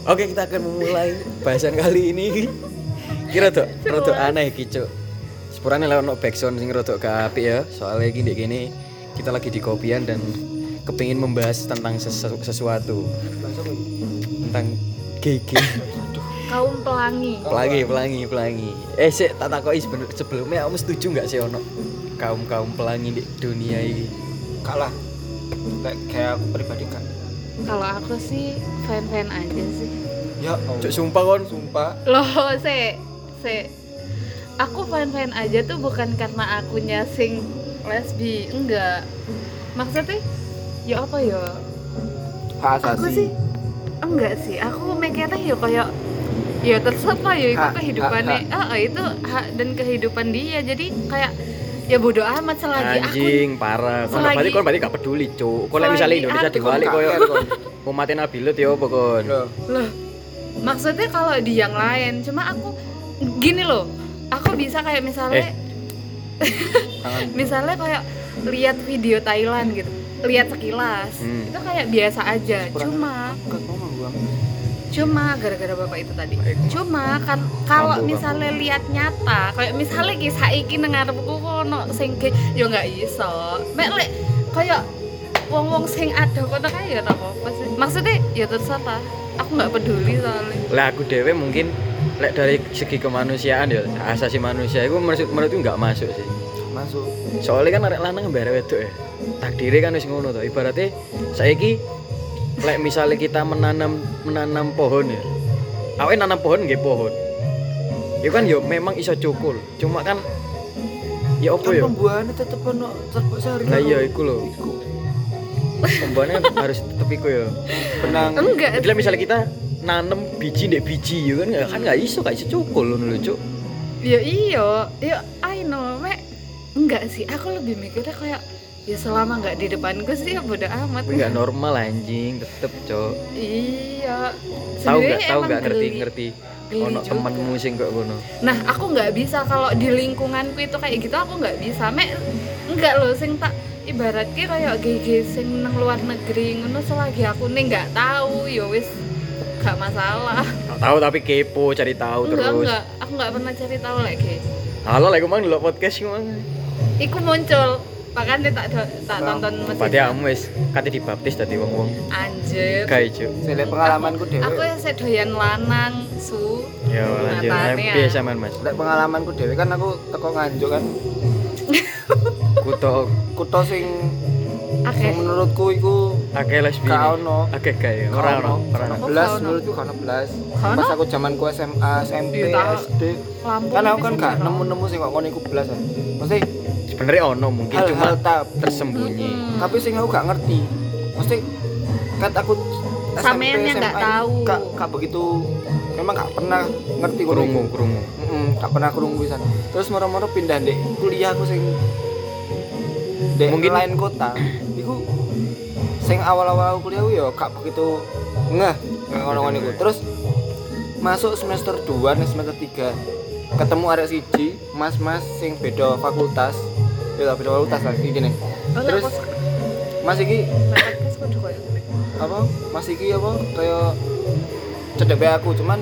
Oke, kita akan memulai bahasan kali ini. Kira tuh rada aneh iki, Cuk. Sepurane lek ono backsound sing rada gak apik ya. Soalnya iki ndek kene kita lagi di kopian dan kepingin membahas tentang sesuatu. Tentang GG. Kaum pelangi. Pelangi. Sik tak takoki sebelumnya kamu setuju enggak sih ono kaum pelangi di dunia ini? Kalah. Kayak aku pribadi kan. Kalau aku sih fan-fan aja sih. Ya, Cuk sumpah kon. sumpah. Loh, aku fan-fan aja tuh bukan karena akunya sing lesbi, enggak. Maksudnya ya apa ya? Hak Aku asasi. sih enggak sih. Aku mikirnya ya kayak ya terserah ya itu Hak, kehidupannya. Itu hak dan kehidupan dia. Jadi kayak ya bodo amat selagi Anjing, parah. Kon berarti gak peduli, Cuk. Kok lek misalnya Indonesia diwalik koyo umatin Nabilut ya apa kon? Loh, maksudnya kalau di yang lain, cuma aku gini loh, aku bisa kayak misalnya kayak lihat video Thailand gitu, lihat sekilas, itu kayak biasa aja, cuma gara-gara bapak itu tadi, cuma kan kalau misalnya lihat nyata, kayak misalnya kisah iki nang ngarepku kono sing yo nggak iso, mek lek kayak wong-wong sing ada kono kae ya ora apa-apa sih, maksudnya ya terserah, aku nggak peduli soalnya. Lah aku dewe mungkin lek dari segi kemanusiaan ya asasi manusia itu menurutku nggak masuk sih. Masuk. Soalnya kan arek lanang mbare wedok ya. Takdire kan wis ngono to. Ibaratnya saiki lek misalnya kita menanam pohon ya. Awake nanam pohon nggih pohon. Ya kan yo memang iso cukul. Cuma kan ya opo ya? Pembuahannya tetep ono sehari. Lah iya iku lho. Pembuahannya harus tetep iku ya. Benang. Enggak. Jadi misalnya kita nanam biji ndek biji ya kan gak iso cukul ngono lho, Cuk. Ya iya, ya I know, mek enggak sih, aku lebih mikirnya kayak ya selama nggak di depanku sih ya bodo amat. Enggak normal anjing, tetep, Cuk. Iya. Tahu Sebenarnya enggak emang ngerti geli ono juga. temenmu sing kok ngono. Nah, aku nggak bisa kalau di lingkunganku itu kayak gitu, aku nggak bisa. Mek enggak loh sing tak ibaratnya kayak GG sing nang luar negeri ngono selagi aku nih nggak tahu ya wis gak masalah. Tahu tapi kepo cari tahu terus. Enggak, aku nggak pernah cari tahu lagi. Halo, lek mang delok podcast mang. Iku muncul, makanya tak tonton mesin. Berarti kamu wis kate dibaptis dadi wong-wong. Anjir. Gae, Cuk. Saya pengalamanku dhewe. Aku ya sedoyan lanang, su. Ya lanjut. Nyatane ya. Biasa man, Mas. Lek pengalamanku dhewe kan aku teko Nganjuk kan. Kuto sing Akeh. menurutku iku akeh lesbi. Gak ono. Akeh gae. Ora ono. Belas menurutku kan belas. Pas aku zamanku SMA, SMP, Iya, SD. Lampung Kan aku ini kan sih gak bener. nemu-nemu sing kok ngono iku belas kan. Mesti Sebenarnya ono mungkin cuma hal-hal tersembunyi. tapi sing aku gak ngerti. Mesti kan aku Sampean yang SMA gak tahu. Gak begitu memang gak pernah ngerti Krungu. gak pernah krungu pisan. Terus moro-moro pindah ndek kuliah aku sing ndek Mungkin- lain kota. Iku sing awal-awal aku kuliah ya gak begitu ngeh ngono-ngono iku. Terus masuk semester 2 nih semester 3 ketemu arek siji, mas-mas sing beda fakultas. Ya beda fakultas lah iki nih. Terus Mas iki apa? Mas iki apa kayak cedek aku cuman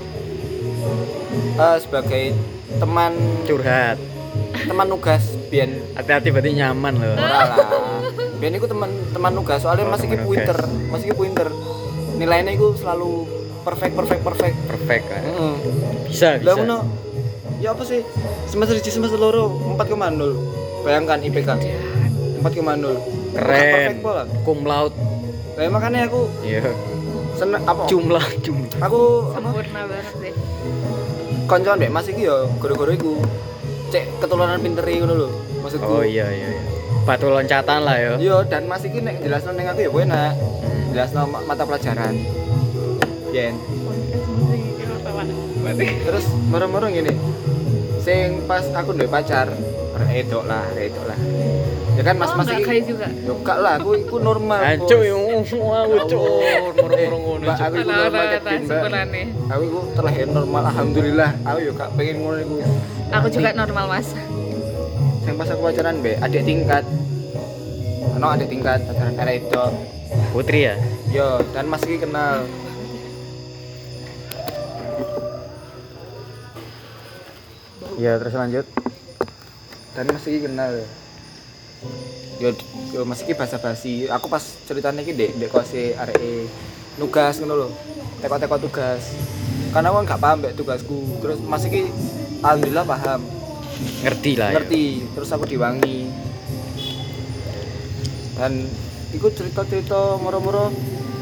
sebagai teman Curhat. nugas biyen Hati-hati berarti nyaman loh. ora lah. Biyen iku teman nugas soalnya Mas iki teman nugas. pinter. Nilainya iku selalu perfect. Perfect kan. Heeh. Bisa. Lah ngono. Ya apa sih? Semester 1 semester 2 4,0. Bayangkan IPK 4,0. Keren. Perfect pola. Cum laude. Lah makanya aku Iya. seneng apa? Jumlah. Aku apa? Sempurna banget sih. Koncoan mbek Mas iki ya gara-gara iku. Cek ketularan pinteri ngono lho. Maksudku. Oh iya. Batu loncatan lah ya. Iya, dan Mas iki nek jelasno ning aku ya enak. Jelasno mata pelajaran. Yen. Terus moro-moro ngene. Sing pas aku ndek pacar, redok lah. Ya kan Mas iki. Kayak juga. Yo gak lah, aku iku normal. Hancur yo aku cuk. Moro-moro ngono. Mbak, aku iku normal cekin, Mbak. Sempurnane. Aku iku terlahir normal alhamdulillah. Aku yo gak pengen ngono iku. Aku juga normal, Mas. Sing pas aku pacaran mbek adik tingkat. Adik tingkat pacaran arek itu. Putri ya? Yo, dan Mas iki kenal. Iya, terus lanjut. Dan masih kenal ya. Yo masih ki basa-basi. Aku pas ceritanya ki ndek kose areke nugas ngono lho. Teko-teko tugas. Karena aku enggak paham mbek tugasku. Terus masih ki alhamdulillah paham. Ngerti lah. Ngerti. Terus aku diwangi. Dan iku cerita-cerita moro-moro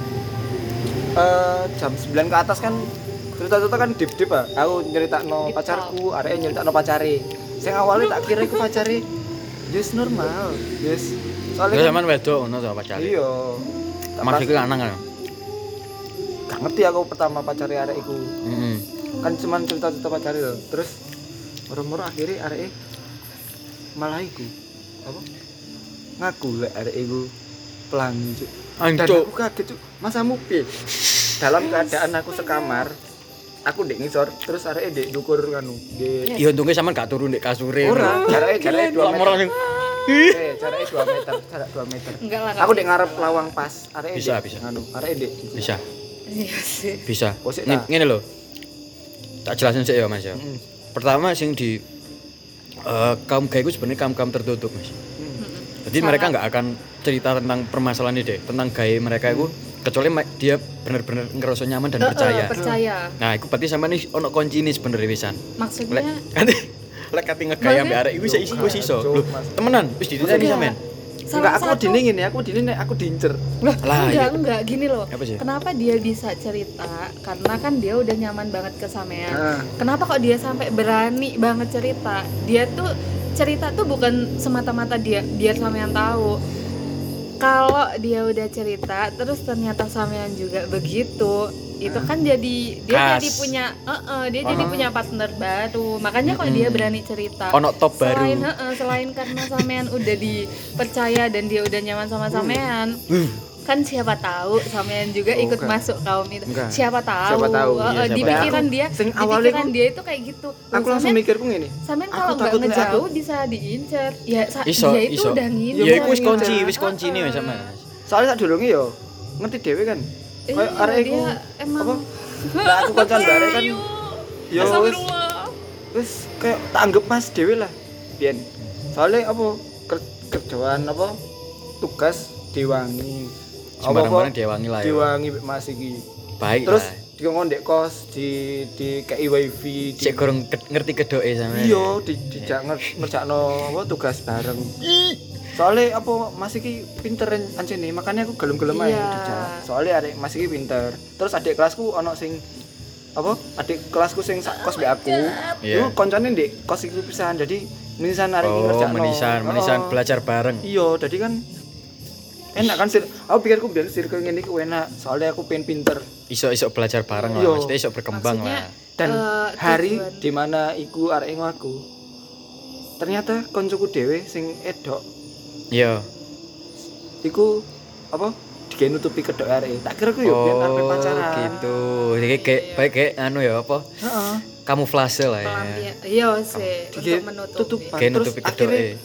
jam 9 ke atas kan cerita-cerita kan deep-deep ah. Aku nyeritakno pacarku, areke nyeritakno pacare. Sing awalnya tak kira iku pacare yes normal. Yes. Terus Soalnya sampean wedok ngono sama pacare. iya. Mas iku lanang kan. Gak ngerti aku pertama pacare arek iku. Heeh. Kan cuman cerita-cerita pacare lho. Terus moro-moro akhirnya areke malah iku. Apa? Ngaku lek arek iku pelangi, Cuk. Dan Ancuk. aku kaget, Cuk. Masamu piye? Dalam keadaan aku sekamar, aku ndek ngisor, terus areke ndek ndukur kanu. Ndek Ya untungnya sampean gak turu ndek kasure. ora, jarake 2 meter. Jarake 2 meter, jarak 2 meter. Enggak lah. Aku ndek ngarep lawang pas, areke Bisa, ndek bisa. nganu, areke ndek. Bisa. Iya sih. Bisa. Posik tak. Ngene lho. Tak jelasin sik ya, Mas ya. Heeh. Pertama sing di kaum gay itu sebenarnya kaum tertutup, Mas. Jadi mereka nggak akan cerita tentang permasalahan ini deh, tentang gay mereka itu kecuali dia benar-benar ngerasa nyaman dan percaya. Percaya. Nah, itu berarti sampean iki ono kuncine sebenarnya pisan. Maksudnya Lek kate ngegay ambek arek iku wis iso. Lho, temenan wis dititeni sampean. Enggak, aku dindingin ya, aku dindingin aku diincer. Lah, enggak gini loh. Apa sih? Kenapa dia bisa cerita? Karena kan dia udah nyaman banget ke sampean. Nah. Kenapa kok dia sampai berani banget cerita? Dia tuh cerita tuh bukan semata-mata dia biar sampean tahu. Kalau dia udah cerita terus ternyata sampean juga begitu, itu kan jadi dia Khas. jadi punya dia jadi punya partner baru. Makanya kok dia berani cerita. Ono top baru. Selain karena sampean udah dipercaya dan dia udah nyaman sama sampean. Kan siapa tahu sampean juga ikut Bukan. masuk kaum itu. Enggak. Siapa tahu. Siapa tahu. Iya, Di siapa pikiran tahu. dia, Sing di awalnya pikiran ku- dia itu kayak gitu. Aku langsung mikirku ngene. Sampean Aku kalau nggak takut nek ngejauh aku- bisa diincer. Ya Iso, dia itu iso. udah ngincer. Ya iku wis ngincer. kunci, wis kunci nih Mas sampean. Soalnya sak durunge yo ngerti dhewe kan. Kayak Iya, arek iku dia emang apa? Lah aku kancan bareng kan. Yo wis wis kayak tak anggap Mas dhewe lah. Biyen. Soalnya apa kerjaan apa tugas diwangi. Sembarang-barang diwangi lah ya. Diwangi mek Mas iki. Baik Terus lah. dikon ndek kos di kei wifi di Cek gorong ngerti kedoke sampean. iya dijak ngerjakno apa tugas bareng. Soalnya apa Mas iki pinter ancene, makanya aku gelem-gelem ae Iya. dijak. Soalnya adek Mas iki pinter. Terus adik kelasku ono sing apa? Adik kelasku sing sak kos mbek aku. Iya. Iku koncone ndek kos iku pisan. Jadi menisan arek iki Oh, ngerjakno. menisan belajar bareng. Iya, jadi kan enak kan aku pikirku biar circle ngene iki enak. Soalnya aku pengen pinter. Iso belajar bareng lah, Iya. maksudnya iso berkembang Maksudnya, lah. Dan hari tujuan. dimana iku arek ngaku ternyata koncoku dhewe sing edok Iya. iku apa digawe nutupi kedok arek. Tak kira ku yo biyen arep pacaran. gitu. Jadi kayak baik kayak anu ya apa? Heeh. Kamuflase lah ya. Pelampian. Iya sih, Digawe untuk menutupi. tutupan. Kayak Terus nutupi akhirnya kedoke.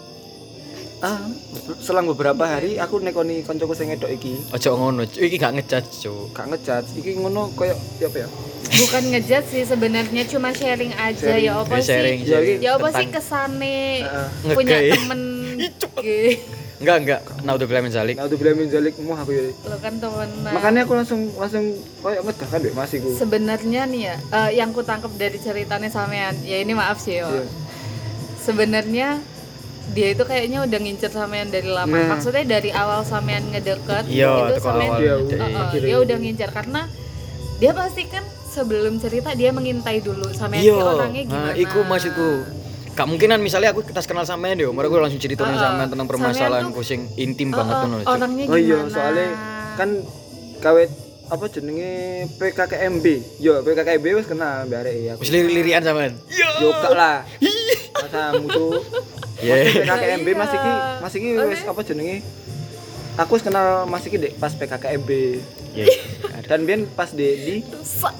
selang beberapa hari aku nekoni koncoku sing edok iki Ojo ngono, Cuk. Iki gak ngejat, Cuk. gak ngejat iki ngono koyo ya apa ya? Bukan ngejat sih sebenarnya, cuma sharing aja. Sharing. Ya apa Ya, sharing, sih? sharing. Ya apa sih Tentang- kesane Heeh. punya Ngegay. temen gay. Enggak. Naudzubillah min zalik. Nah, udah bilang menjalik mau aku ya. Lo kan temenan. Makanya aku langsung koyo ngedah kan Mbak Mas iku. Sebenarnya nih ya, yang ku tangkep dari ceritanya sampean, ya ini maaf sih yo. Iya. Sebenarnya dia itu kayaknya udah ngincer sampean dari lama. Nah. Maksudnya dari awal sampean ngedeket, Iya, itu teko sampean awal. Iya, Dek. dia udah ngincer karena dia pasti kan sebelum cerita dia mengintai dulu sampean Iya. ki orangnya gimana. Nah, iku maksudku. Gak mungkinan misalnya aku tas kenal sampean yo, mereka langsung ceritain sampean tentang permasalahanku sing intim banget ngono. Cuk. Orangnya Oh gimana? iya, soalnya kan kawet apa jenenge PKKMB. Yo, PKKMB wis kenal mbak arek ya. Wis lirik-lirikan sampean. Yo gak lah. Masamu tuh. Iya. PKKMB Iya. Mas iki wis apa jenenge? Aku wis kenal Mas iki Dek pas PKKMB. Iya. Dan biyen pas di Rusak.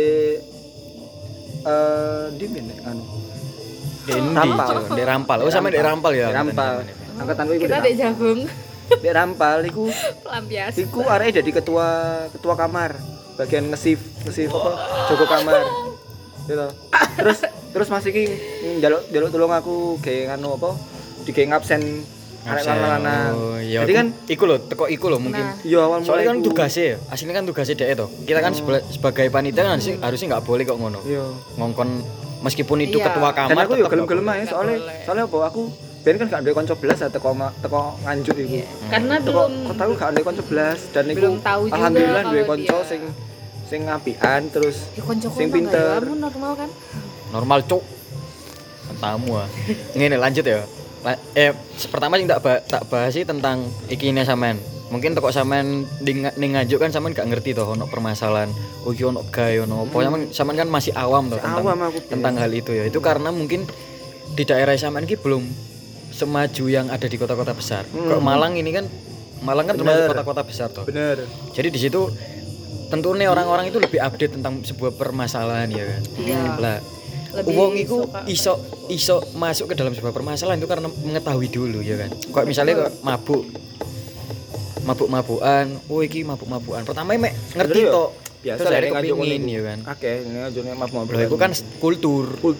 di mana anu? Dendi, Rampal. Cuk. Dek Rampal. Oh, sampe Dek Rampal ya. Dek Rampal. Angkatanku iku Kita dek jagung Dek Rampal iku pelampiasan. iku arek jadi ketua kamar. Bagian ngesif apa? Jaga kamar. Gitu. Terus Mas iki njaluk tolong aku gawe nganu apa? Digawe ngabsen arek lanang. Oh, iya. Jadi kan iku lho, teko iku lho mungkin. Nah. iya awal Soalnya kan iku. tugasnya ya, aslinya kan tugasnya dhek to. Kita kan sebagai panitia kan harusnya nggak boleh kok ngono. Iya. Ngongkon meskipun itu Iya. ketua Dan kamar aku yo tetep gelem-gelem nggak ae Nggak soalnya boleh. apa aku ben kan gak duwe kanca belas teko nganjuk iku. Karena Teko belum kotaku gak duwe kanca belas dan iku belum tahu juga alhamdulillah duwe kalau kanca dia- sing apian terus ya konco sing pinter. Kamu normal kan? normal cuk. Tamu ah. Ngene lanjut ya. Pertama sing tak bahas sih tentang ikine sampean. Mungkin teko sampean ning nganjuk kan sampean gak ngerti toh ono permasalahan. Oh iki ono gawe ono apa. Sampean kan masih awam toh Awam aku, tentang hal itu ya. Itu karena mungkin di daerah sampean ki belum semaju yang ada di kota-kota besar. Kok Malang ini kan termasuk kota-kota besar toh. Bener. Jadi di situ tentunya orang-orang itu lebih update tentang sebuah permasalahan ya kan. Iya. Lah Lebih wong iku suka. iso masuk ke dalam sebuah permasalahan itu karena mengetahui dulu ya kan. Kok misalnya kok mabuk-mabukan, oh iki mabuk-mabukan. Pertama mek ngerti Bener ya? tok. Biasa Terus lah akhirnya nek nganjuk kepingin ngono ya iku. kan. Akeh nek ngajune mabuk-mabuk. Loh itu kan kultur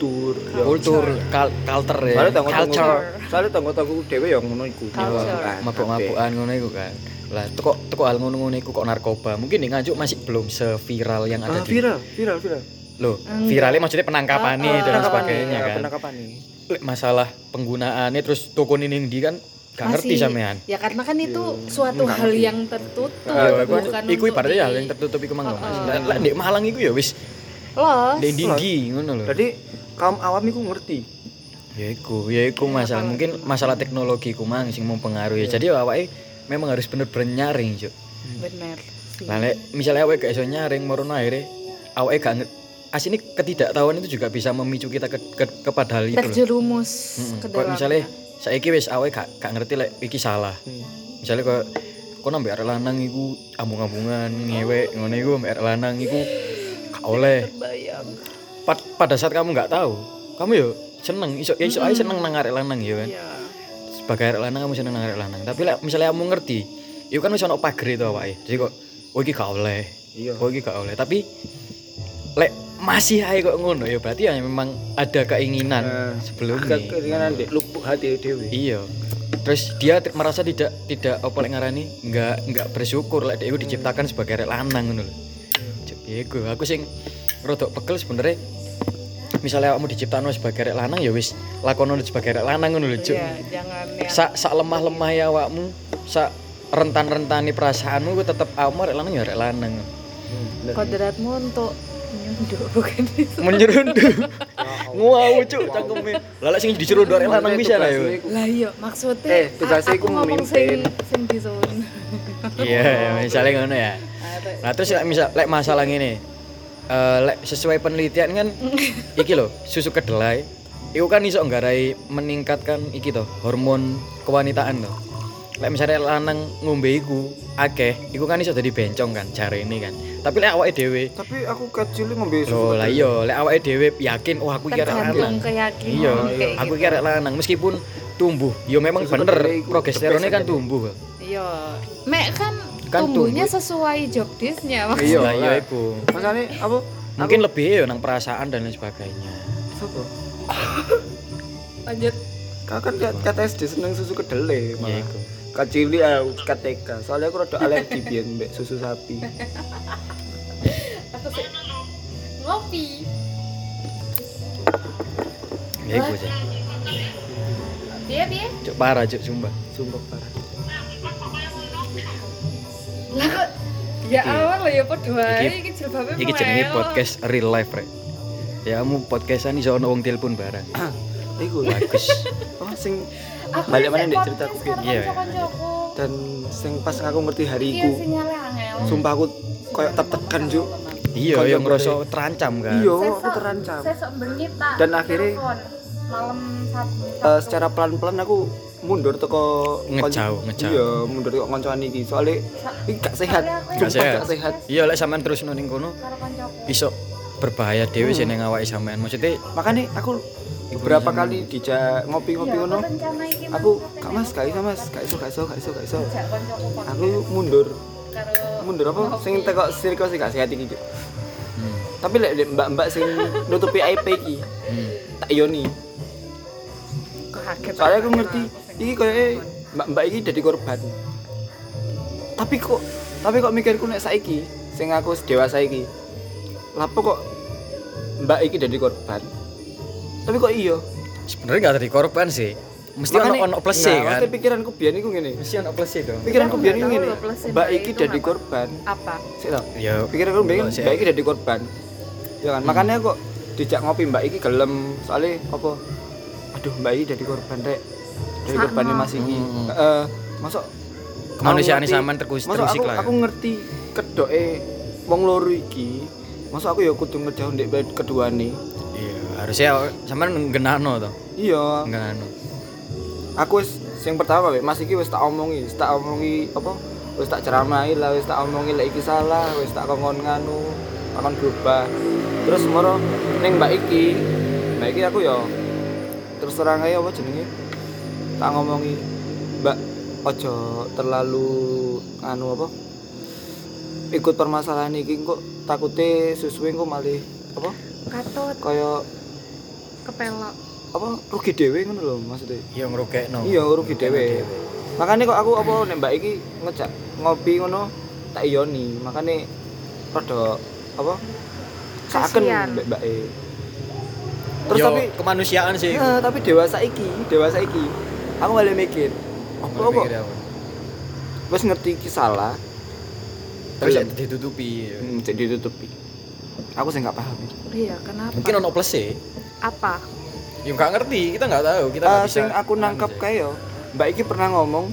culture ya. Culture. Soalnya tanggo-tanggo dhewe ya ngono iku. Culture. Mabuk-mabukan ngono iku kan. Lah teko hal ngono-ngono iku kok narkoba. Mungkin di Nganjuk masih belum seviral yang ada di Viral. Loh, viralnya maksudnya penangkapannya dan sebagainya kan. Penangkapan nih. Lek masalah penggunaannya terus toko ini di kan gak ngerti sampean. Ya karena kan itu suatu hal yang tertutup, bukan Iku untuk ibaratnya hal di- yang tertutup iku mang Mas. Lah di Malang iku ya wis Los. dinggi ngono lho. Jadi kaum awam iku ngerti. Ya iku masalah mungkin masalah teknologi ku mang sing mempengaruhi. Jadi awake memang harus bener-bener nyaring, Cuk. Bener sih. Lah lek misalnya awake gak iso nyaring merono akhirnya awake gak asini ketidaktahuan itu juga bisa memicu kita kepada hal itu loh. Terjerumus ke Kok dalam. misalnya saiki wis awake gak ngerti lek iki salah. Misalnya kok nambah arek lanang iku ambung-ambungan ngewek ngono iku mbek arek lanang iku gak oleh. Bayang. Pada saat kamu nggak tahu, kamu yo seneng iso ae seneng nang arek lanang ya kan. Iya. Sebagai arek lanang kamu seneng nang arek lanang. Tapi lek misalnya kamu ngerti, iku kan wis ono pagere to awake. Jadi kok oh iki gak oleh. Iya. Oh iki gak oleh. Tapi lek masih ae kok ngono ya berarti ya memang ada keinginan sebelumnya. Keringanan dek lupuk hati dhewe. Iya. Terus dia merasa tidak apa lek ngarani enggak bersyukur lek dia diciptakan sebagai arek lanang ngono lho. Ya iku aku sing rodok pegel sebenarnya. Misalnya kamu diciptakan sebagai arek lanang ya wis lakono sebagai arek lanang ngono lho, Cuk. Iya, jangan yang Sak lemah-lemah ya awakmu, sak rentan-rentani perasaanmu ku tetep awakmu arek lanang ya arek lanang. kodratmu untuk menyunduk bukan itu. Menyerunduh. Ngawur Cuk cangkeme. Lah lek sing disuruh arek lanang bisa lah ya. Lah iya maksudnya tugasnya aku iku ngomong memimpin. sing disuruh. Iya, misalnya ngono ya. Nah, terus lek masalah ngene. Lek sesuai penelitian kan iki lho, susu kedelai iku kan iso nggarai meningkatkan iki to, hormon kewanitaan to. Lek misalnya lanang ngombe iku akeh, iku kan iso dadi bencong kan jare ini kan. Tapi lek awake dhewe Tapi aku kecil ngombe lho susu. lah iya, lek awake dhewe yakin wah aku iki arek lanang. Tergantung keyakinan Iya, kayak aku gitu. iki arek lanang meskipun tumbuh. Ya memang Susu bener kedelai iku progesteronnya the best kan aja. tumbuh. Iya. Mek kan Kan tumbuhnya tumbuh. sesuai job desk-nya Iya. maksudnya. Lah iya lah. iku. Masane apa? Mungkin lebih ya nang perasaan dan lain sebagainya. Sopo? Lanjut. Kau kan kata SD seneng susu kedelai Ya malah. iku. Kacili KTK. Soalnya aku rada alergi biyen mbek susu sapi. Aku sih ngopi. Ya iku sih. Piye? Cuk parah cuk sumpah. Sumpah parah. Lah kok ya awal lo ya padha wae Iki- iki jilbabe Iki jenenge podcast real life rek. Ya kamu podcastan iso ono wong telepon bareng. Iku Bagus. oh sing Aku balik sih mana ndek podcast ceritaku karo Iya. kanca-kancaku. dan sing pas aku ngerti Iya hariku. sinyale angel. Sumpah aku koyo tertekan juk. Iya, Kanca yang ngerasa terancam kan. Iya, aku terancam. Sesok bengi tak. Dan akhirnya, telepon. malam Sabtu. Secara pelan-pelan aku mundur teko Ngejauh. Iya, mundur teko koncoan iki. Soalnya iki gak sehat. Gak Sumpah sehat. gak sehat. Iya, lek sampean terus ning kono Karo kancaku. iso berbahaya dhewe sih ning awake sampean. Maksudnya Makanya aku beberapa kali dijak ngopi-ngopi ngono. Rencana iki Aku Kak Mas, gak iso Mas, gak iso. jak kancaku podcast Aku mundur. karo Mundur apa? Sing teko sirkus sih gak sehat iki. Cuk. hmm. Tapi lek mbak-mbak sing nutupi aib iki, tak yoni. kaget. Soalnya aku ngerti iki koyoke mbak iki dadi korban. Tapi kok mikirku nek saiki sing aku dewasa iki. Lapo kok mbak iki dadi korban? Tapi kok iya? Sebenarnya gak dari korban sih. Mesti ono plus kan. Mesti pikiranku biyen iku ngene. Mesti ono plus dong. Pikiranku biyen iku ngene. Tahu plus Mbak iki itu dadi ngapa? korban. Apa? Sik to. Ya. Pikiranku biyen Sik. mbak iki dadi korban. Ya kan, makanya kok dijak ngopi mbak iki gelem soalnya apa? Aduh, mbak iki dadi korban rek. Dari korbannya Mas iki. Masuk Kemanusiaan aku ngerti- sampean terusik masuk lah. aku ngerti kedoke wong loro iki. Masuk aku ya kudu ngejauh ndek keduane. Iya, harusnya sampean nggenano to. Iya. Nggenano. Aku wis sing pertama wek Mas iki wis tak omongi apa? Wis tak ceramahi lah, wis tak omongi lek iki salah, wis tak kongkon nganu, takon berubah. Terus moro ning mbak iki aku ya terus terang ae apa jenenge? Tak ngomongi, "Mbak, ojo terlalu anu apa? Ikut permasalahan iki kok takute susuwe kok malih apa? Katut, Kaya kepelok. apa rugi dhewe ngono lho maksudnya. Iya ngrugekno. Iya rugi dhewe. Makanya kok aku apa nek mbak iki ngejak ngopi ngono tak iyoni. Makanya rada apa? Saken Kasian. mbak e. Terus Yo, tapi kemanusiaan sih. tapi dewasa iki aku malah mikir, apa kok Mikir apa? wis ngerti iki salah. Terus Gelem. ditutupi. Jadi ditutupi. Aku sih nggak paham. Iya, kenapa? Mungkin ono plus sih. Apa? Ya nggak ngerti, kita nggak tahu, kita nggak bisa. Sing aku nangkap kae yo, mbak iki pernah ngomong,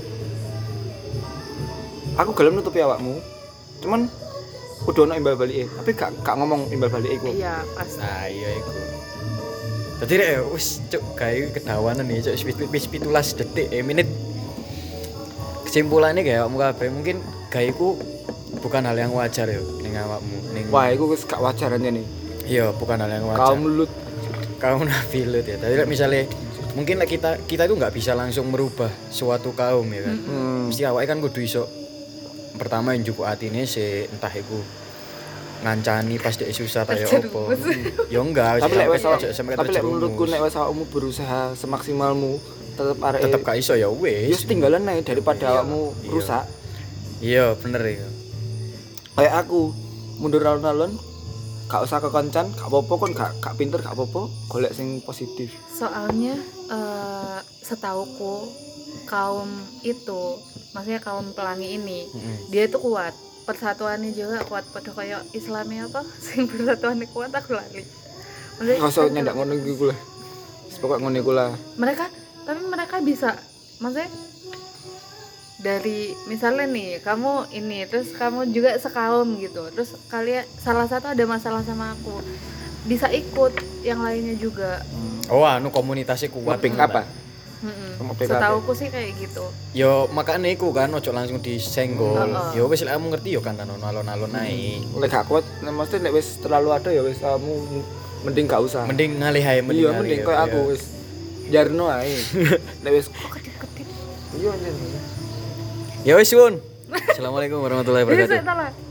aku gelem nutupi awakmu. Cuman kudu ono imbal balike, tapi gak ngomong imbal balike iku. Iya, pasti. Nah, iya iku. Tadi rek wis cuk gawe kedawanan nih, cuk wis 17 detik menit. Kesimpulannya kayak awakmu kabeh mungkin gaweku bukan hal yang wajar ya ning awakmu ning. Wah, iku wis gak wajar nih. Iya, bukan hal yang wajar. Kaum lut. Kaum nabi lut ya. Tapi misalnya mungkin kita itu nggak bisa langsung merubah suatu kaum ya kan. Mesti awake kan kudu iso pertama yang cukup atine sih entah iku ngancani pas dia susah ta ya opo. Ya enggak, Tapi lek wis sampai tapi lek menurutku nek wis awakmu berusaha semaksimalmu tetep arek tetep gak iso ya ya wis. tinggalan ae daripada awakmu Iya. rusak. Iya, bener ya. Kayak aku mundur alon-alon gak usah kekoncan, gak apa-apa kon gak pinter gak apa-apa, golek sing positif. Soalnya setauku kaum itu, maksudnya kaum pelangi ini, dia itu kuat. Persatuannya juga kuat, pada kayak Islamnya apa? Sing persatuannya kuat aku lali. Maksudnya Gak usah nyendak ngono iku lah. Wis pokok ngono iku lah. mereka bisa, maksudnya dari misalnya nih kamu ini terus kamu juga sekaum gitu, terus kalian salah satu ada masalah sama aku bisa ikut yang lainnya juga. Oh, anu komunitasnya kuat. Ngeping apa? Sama PKB. Setauku sih kayak gitu. Yo makanya iku kan ojo langsung disenggol. Heeh. Yo wis lek kamu ngerti yo kan alon-alon ae. Lek gak kuat, mesti nek wis terlalu ada ya wis kamu mending gak usah. Mending ngalih ae Iya, mending koyo aku wis jarno ae. Nek wis Kedip-kedip. iya anjir. Ya wis, Sun. Assalamualaikum warahmatullahi Jadi wabarakatuh. saya